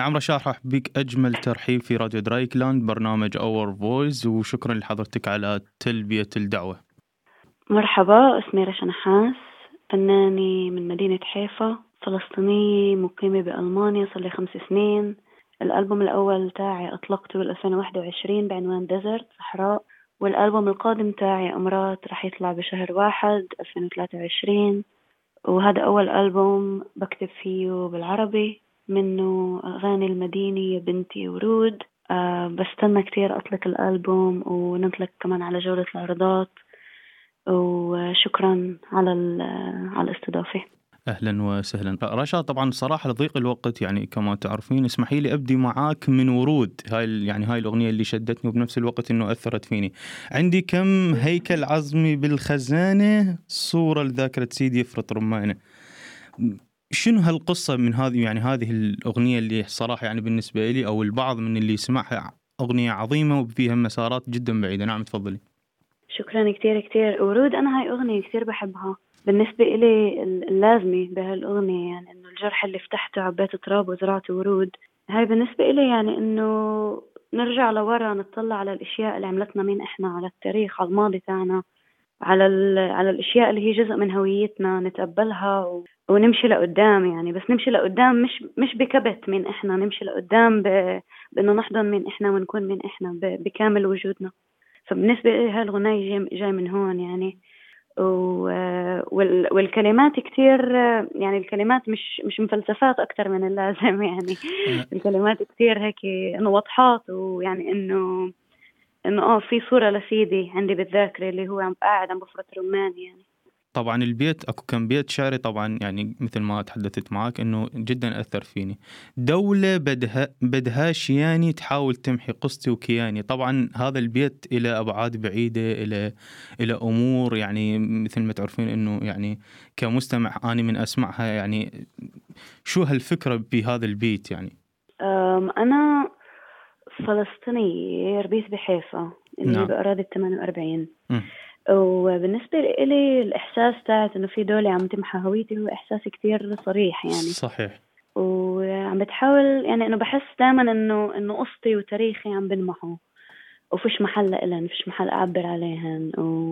نعم رشا، راح بك أجمل ترحيب في راديو درايكلاند برنامج اور فويس، وشكرا لحضرتك على تلبية الدعوة. مرحبا، اسمي رشا نحاس، فنانة من مدينة حيفا، فلسطينية مقيمة بألمانيا صار لي 5 سنين. الألبوم الأول تاعي أطلقته 2021 بعنوان ديزرت صحراء، والألبوم القادم تاعي أمرات رح يطلع بشهر 1 2023. وهذا أول ألبوم بكتب فيه بالعربي، منه أغاني المدينة يا بنتي ورود. بستنى كتير أطلق الألبوم ونطلق كمان على جولة العرضات، وشكرا على الاستضافة. أهلا وسهلا رشا. طبعا صراحة لضيق الوقت يعني كما تعرفين، اسمحي لي أبدي معاك من ورود. هاي الأغنية اللي شدتني وبنفس الوقت إنه أثرت فيني. عندي كم هيكل عظمي بالخزانة، صورة لذاكرة سيدي يفرط رمانة. شنو هالقصة من هذه، يعني هذه الأغنية اللي صراحة يعني بالنسبة لي أو البعض من اللي يسمعها أغنية عظيمة وفيها مسارات جدا بعيدة. نعم تفضلي. شكرا كتير كتير ورود. أنا هاي أغنية كتير بحبها. بالنسبة إلي اللازمة بهالأغنية يعني إنه الجرح اللي فتحته عبيت تراب وزرعت ورود. هاي بالنسبة إلي يعني إنه نرجع لورا، نطلع على الأشياء اللي عملتنا مين إحنا، على التاريخ، على الماضي تاعنا، على الأشياء اللي هي جزء من هويتنا، نتقبلها ونمشي لقدام. يعني بس نمشي لقدام مش بكبت مين إحنا، نمشي لقدام بإنه نحضن مين إحنا ونكون مين إحنا بكامل وجودنا. فبالنسبة لي هالغناية جاي من هون يعني. والكلمات كتير، يعني الكلمات مش مفلسفات أكتر من اللازم يعني. الكلمات كتير هيك إنه واضحات، ويعني إنه في صورة لسيدي عندي بالذاكرة اللي هو قاعد عم بفرط رمان يعني. طبعا البيت اكو كم بيت شعري طبعا، يعني مثل ما تحدثت معك انه جدا اثر فيني. دولة بدها شياني تحاول تمحي قصتي وكياني. طبعا هذا البيت الى ابعاد بعيدة، الى امور يعني مثل ما تعرفين انه يعني كمستمع اني من اسمعها يعني شو هالفكرة بهذا البيت يعني. انا فلسطينية، ربيت بحيفا اللي هي نعم. بأراضي 48. وبالنسبة لي الإحساس تاعت إنه في دولة عم تمحى هويتي هو إحساس كتير صريح يعني. صحيح. وعم بتحاول يعني إنه بحس دائما إنه قصتي وتاريخي عم بنمحوا، وفيش محل لإلن، فيش محل أعبر عليهن.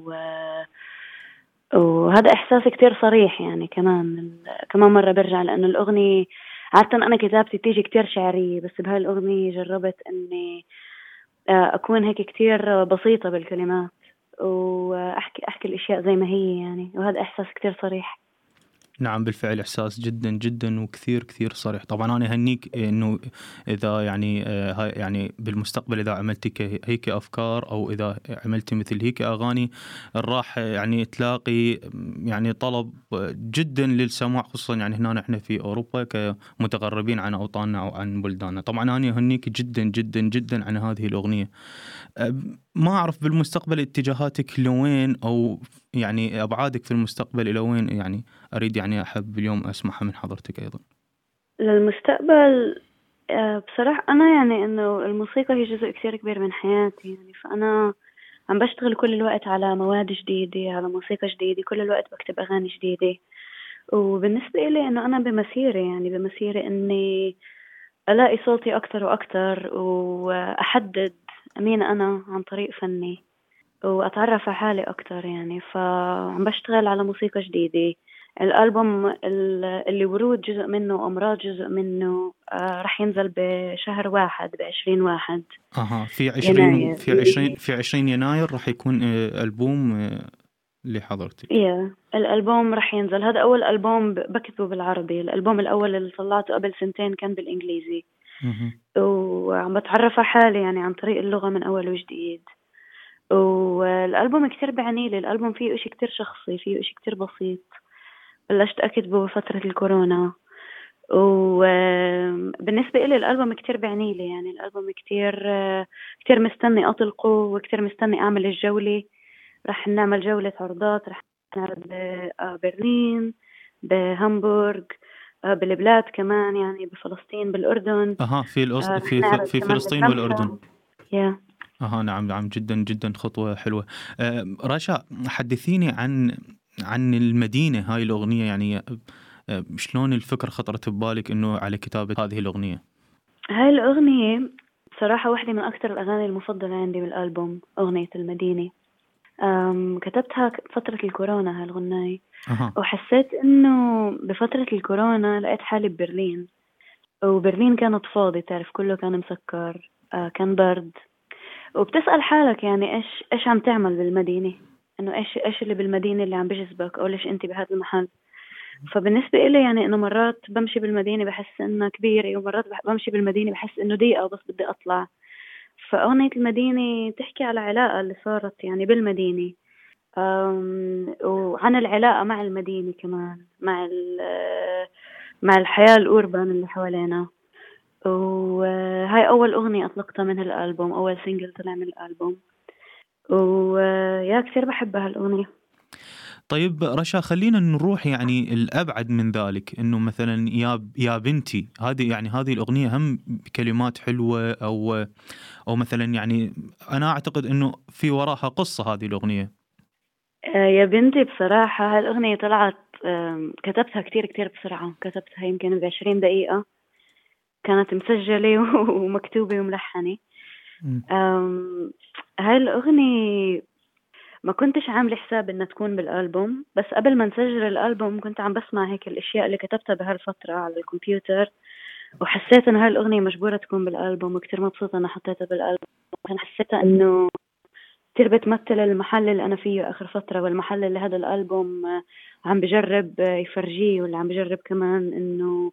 وهذا إحساس كتير صريح يعني. كمان مرة برجع لأنه الأغنية عادة أنا كتابتي تيجي كتير شعرية، بس بهاي الأغنية جربت إني أكون هيك كتير بسيطة بالكلمات، وأحكي الأشياء زي ما هي يعني. وهذا إحساس كتير صريح. نعم بالفعل إحساس جدا جدا وكثير كثير صريح. طبعا أنا أهنيك إنه إذا يعني هاي يعني بالمستقبل إذا عملتي هيك أفكار أو إذا عملتي مثل هيك أغاني راح يعني تلاقي يعني طلب جدا للسماع، خصوصا يعني هنا نحن في أوروبا كمتغربين عن أوطاننا أو عن بلداننا. طبعا أنا أهنيك جدا جدا جدا عن هذه الأغنية. ما أعرف بالمستقبل اتجاهاتك لوين أو يعني أبعادك في المستقبل إلى وين، يعني أريد يعني أحب اليوم أسمعها من حضرتك أيضا. للمستقبل بصراحة أنا يعني إنه الموسيقى هي جزء كتير كبير من حياتي يعني. فأنا عم بشتغل كل الوقت على مواد جديدة، على موسيقى جديدة، كل الوقت بكتب أغاني جديدة. وبالنسبة إلي إنه أنا بمسيرة إني ألاقي صوتي أكتر وأكتر، وأحدد مين أنا عن طريق فني، وأتعرف على حالي أكتر يعني. فعم بشتغل على موسيقى جديدة. الألبوم اللي ورود جزء منه، أمراض جزء منه، رح ينزل بشهر 1 ب20/1 في 20 يناير. في 20 يناير راح يكون ألبوم لحضرتك. الألبوم رح ينزل. هذا أول ألبوم بكتبه بالعربي. الألبوم الأول اللي طلعته قبل 2 كان بالإنجليزي. وعم بتعرف على حالي يعني عن طريق اللغة من أول وجديد. والألبوم كتير بعني لي. الألبوم فيه إشي كتير شخصي، فيه إشي كتير بسيط، بلشت أكتبه بفترة الكورونا. وبالنسبة إلي الألبوم كتير بعني لي يعني. الألبوم كتير مستني أطلقه، وكتير مستني أعمل الجولة. رح نعمل جولة عرضات، رح نعرض ببرلين، بهامبورغ، بالبلاد كمان يعني، بفلسطين، بالأردن. رح نعرض في كمان فلسطين والأردن. نعم نعم جدا جدا خطوة حلوة. رشا حدثيني عن المدينة هاي الأغنية، يعني شلون الفكرة خطرت ببالك إنه على كتابة هذه الأغنية؟ هاي الأغنية بصراحة واحدة من أكتر الأغاني المفضلة عندي بالألبوم، أغنية المدينة. كتبتها فترة الكورونا هالغناية. اها. وحسيت إنه بفترة الكورونا لقيت حالي ببرلين، وبرلين كانت فاضي، تعرف كله كان مسكر، كان برد. وبتسأل حالك يعني إيش عم تعمل بالمدينة، إنه إيش اللي بالمدينة اللي عم بجذبك، أو ليش أنت بهذا المحل. فبالنسبة إلي يعني إنه مرات بمشي بالمدينة بحس إنها كبيرة، ومرات بمشي بالمدينة بحس إنه ضيقة وبس بدي أطلع. فأغنية المدينة تحكي على علاقة اللي صارت يعني بالمدينة، وعن العلاقة مع المدينة كمان، مع الحياة الأوربان اللي حوالينا. وهاي أول أغنية أطلقتها من هالألبوم، أول سينجل طلع من الألبوم. ويا كثير بحبها الأغنية. طيب رشا، خلينا نروح يعني الأبعد من ذلك، إنه مثلا يا بنتي، هذه يعني هذه الأغنية هم كلمات حلوة، أو مثلا يعني أنا أعتقد إنه في وراها قصة هذه الأغنية. يا بنتي بصراحة هالأغنية طلعت، كتبتها كتير كتير بسرعة، كتبتها يمكن ب20 دقيقة. كانت مسجلة ومكتوبة وملحنة. مم. هاي الأغنية ما كنتش عاملة حساب إنها تكون بالألبوم، بس قبل ما نسجل الألبوم كنت عم بسمع هيك الأشياء اللي كتبتها بهالفترة على الكمبيوتر، وحسيت إنه هاي الأغنية مجبورة تكون بالألبوم، وكتير مبسوطة إنها حطيتها بالألبوم. أنا حسيتها إنه كتير بتمثل المحل اللي أنا فيه آخر فترة، والمحل اللي هذا الألبوم عم بجرب يفرجيه، واللي عم بجرب كمان إنه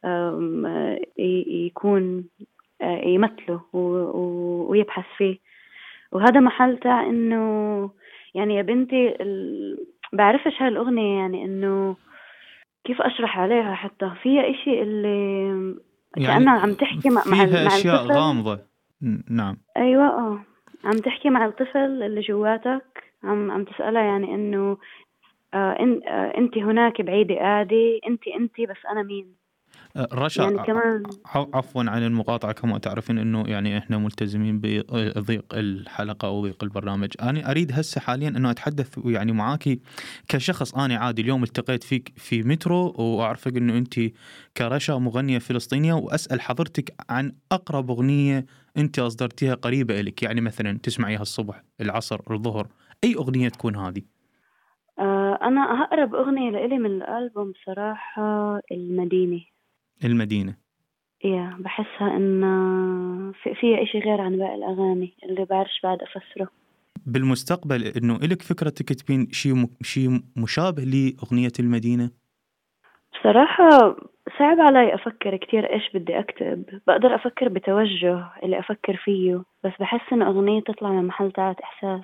يكون يمثله ويبحث فيه. وهذا محل تاع إنه يعني يا بنتي بعرفش هالأغنية يعني إنه كيف أشرح عليها، حتى فيها إشي اللي يعني كأنها عم تحكي فيها مع أشياء الطفل. غامضة. نعم. أيوة، عم تحكي مع الطفل اللي جواتك، عم تسألها يعني إنه أنت هناك بعيدة قاعدة، أنت بس أنا مين. رشا، يعني كمان عفوا عن المقاطعة، كما تعرفين انه يعني احنا ملتزمين بضيق الحلقة او ضيق البرنامج. انا اريد هسه حاليا انه اتحدث يعني معاكي كشخص. انا عادي اليوم التقيت فيك في مترو، واعرفك انه انت كرشا مغنية فلسطينية، واسأل حضرتك عن اقرب اغنية انت اصدرتيها قريبة الك، يعني مثلا تسمعيها الصبح، العصر، الظهر، اي اغنية تكون هذه. أنا أقرب أغنية لإلي من الألبوم صراحة المدينة. المدينة. بحسها إن فيها إشي غير عن باقي الأغاني اللي بعرفش بعد أفسره. بالمستقبل انه الك فكرة تكتبين شيء مشابه لاغنية المدينة؟ بصراحة صعب علي أفكر كتير إيش بدي أكتب. بقدر أفكر بتوجه اللي أفكر فيه، بس بحس إن أغنية تطلع من محل تاعت إحساس.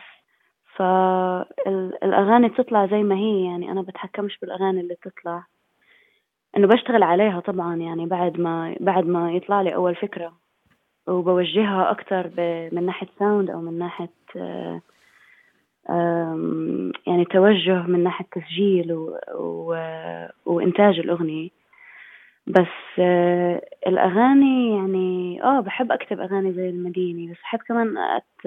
فالأغاني بتطلع زي ما هي، يعني أنا بتحكمش بالأغاني اللي بتطلع. إنه بشتغل عليها طبعا، يعني بعد ما يطلع لي أول فكرة، وبوجهها أكتر من ناحية ساوند، أو من ناحية يعني توجه من ناحية تسجيل وإنتاج الأغنية. بس الأغاني يعني بحب أكتب أغاني زي المدينة، بس بحب كمان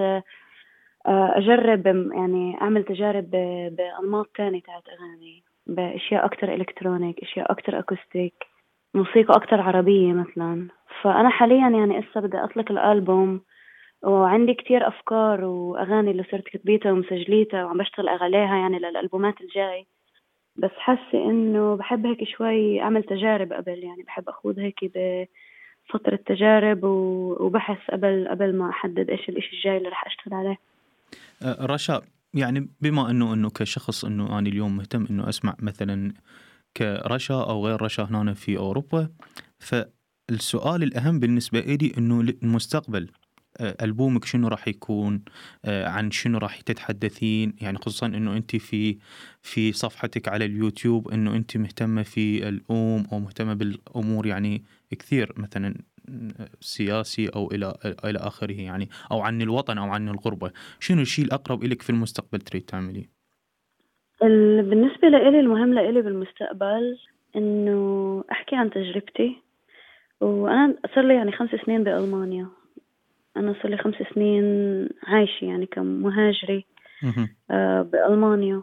أجرب، يعني أعمل تجارب بأنماط تانية تاعت أغاني، بأشياء أكتر إلكترونيك، أشياء أكتر أكوستيك، موسيقى أكتر عربية مثلا. فأنا حاليا يعني إسا بدي أطلق الألبوم، وعندي كتير أفكار وأغاني اللي صرت كتبيتها ومسجليتها وعم بشتغل عليها يعني للألبومات الجاي. بس حاسة إنه بحب هيك شوي أعمل تجارب قبل، يعني بحب أخوض هيك بفترة تجارب وبحث قبل ما أحدد إيش الإشي الجاي اللي رح أشتغل عليه. رشا، يعني بما انه كشخص، انه انا اليوم مهتم انه اسمع مثلا كرشا او غير رشا هنا في اوروبا، فالسؤال الاهم بالنسبه لي انه المستقبل، ألبومك شنو راح يكون، عن شنو راح تتحدثين، يعني خصوصا انه انت في صفحتك على اليوتيوب انه انت مهتمة في او مهتمة بالامور يعني كثير، مثلا سياسي او الى اخره، يعني او عن الوطن او عن الغربة. شنو الشيء الاقرب لك في المستقبل تريد تعمليه؟ بالنسبة لإلي المهم لإلي بالمستقبل إنه أحكي عن تجربتي. وأنا صار لي يعني 5 سنين بألمانيا. أنا صار لي 5 سنين عايشة يعني كمهاجرة مهم. بألمانيا.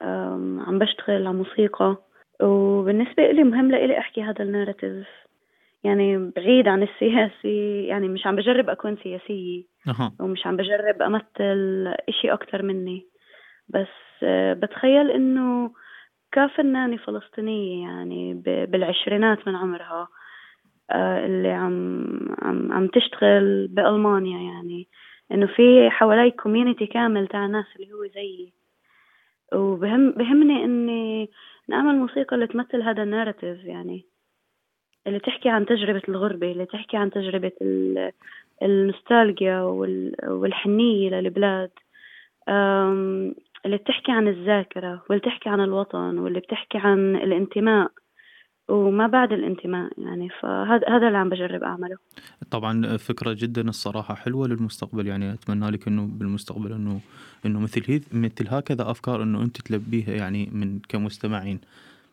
عم بشتغل على موسيقى. وبالنسبة إلي مهم لإلي أحكي هذا الناراتيف، يعني بعيد عن السياسي، يعني مش عم بجرب أكون سياسية أها. ومش عم بجرب أمثل إشي أكتر مني، بس بتخيل إنه كفنانة فلسطينية يعني بالعشرينات من عمرها، اللي عم تشتغل بألمانيا، يعني إنه في حوالي كوميونيتي كامل تاع ناس اللي هو زيي، بهمني إني نعمل موسيقى اللي تمثل هذا الناراتيف، يعني اللي تحكي عن تجربة الغربة، اللي تحكي عن تجربة النوستالجيا والحنية للبلاد، اللي بتحكي عن الذاكرة، واللي بتحكي عن الوطن، واللي بتحكي عن الانتماء وما بعد الانتماء. يعني فهذا اللي عم بجرب أعمله. طبعا فكرة جدا الصراحة حلوة للمستقبل، يعني أتمنى لك إنه بالمستقبل إنه مثل هكذا أفكار إنه أنت تلبيها يعني من كمستمعين.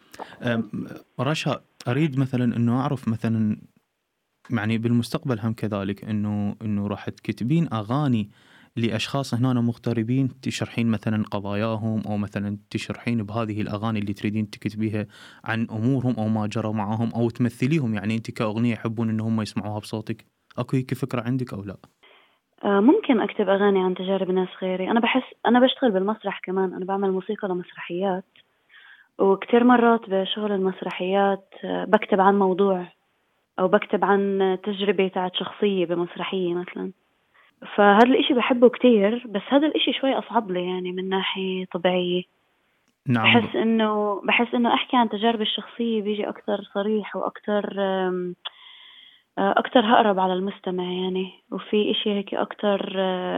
رشا، أريد مثلا إنه أعرف مثلا يعني بالمستقبل هم كذلك إنه راح تكتبين أغاني لأشخاص هنا مغتربين، تشرحين مثلا قضاياهم، أو مثلا تشرحين بهذه الأغاني اللي تريدين تكتبيها عن أمورهم أو ما جرى معهم، أو تمثليهم يعني أنت كأغنية يحبون إن هم يسمعوها بصوتك. أكو هيك فكرة عندك أو لا؟ ممكن أكتب أغاني عن تجارب ناس غيري. أنا بحس أنا بشتغل بالمسرح كمان، أنا بعمل موسيقى لمسرحيات، وكتير مرات بشغل المسرحيات بكتب عن موضوع أو بكتب عن تجربة تاعت شخصية بمسرحية مثلا. فهذا الإشي بحبه كتير، بس هذا الإشي شوي أصعب لي يعني من ناحية طبيعية. نعم. بحس إنه أحكي عن تجاربي الشخصية بيجي أكتر صريح وأكتر أكتر هقرب على المستمع يعني، وفي إشي هيك أكتر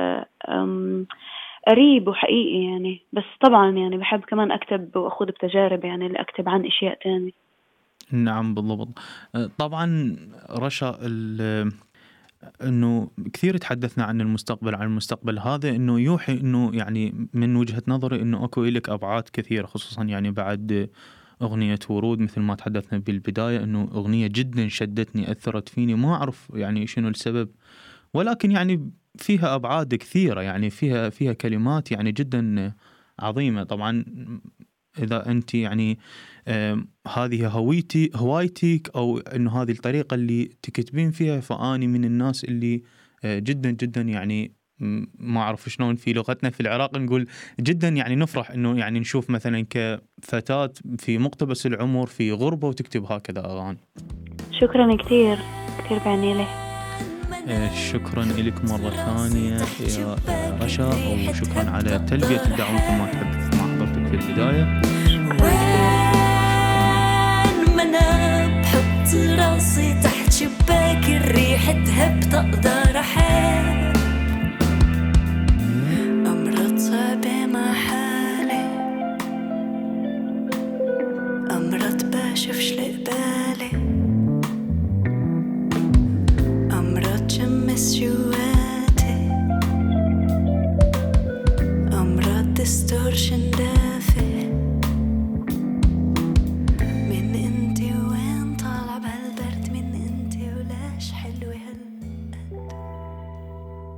قريب وحقيقي يعني. بس طبعا يعني بحب كمان أكتب وأخذ بتجارب، يعني اللي أكتب عن أشياء تاني. نعم بالضبط. طبعا رشا، انه كثير تحدثنا عن المستقبل هذا، انه يوحي انه يعني من وجهة نظري انه اكو لك ابعاد كثيرة، خصوصا يعني بعد اغنية ورود مثل ما تحدثنا بالبداية، انه اغنية جدا شدتني، اثرت فيني، ما اعرف يعني شنو السبب، ولكن يعني فيها ابعاد كثيرة، يعني فيها كلمات يعني جدا عظيمة. طبعا إذا أنت يعني هذه هوايتك أو إنه هذه الطريقة اللي تكتبين فيها، فأني من الناس اللي جدا جدا يعني ما أعرف شلون في لغتنا في العراق نقول جدا يعني نفرح إنه يعني نشوف مثلا كفتاة في مقتبس العمر في غربة وتكتب هكذا أغاني. شكرا كتير كتير بعني لي. شكرا لك مرة ثانية يا رشا، وشكرا على تلبية الدعوة مثل ما تحدثت مع حضرتك في البداية. ما أنا بحط راسي تحت شباك الريح تهب تقدر أحب أمرض صعبة مع حالي، أمرض بشوفش لقبالي، أمرض جمس جواتي، أمرض ديستورشن دافي،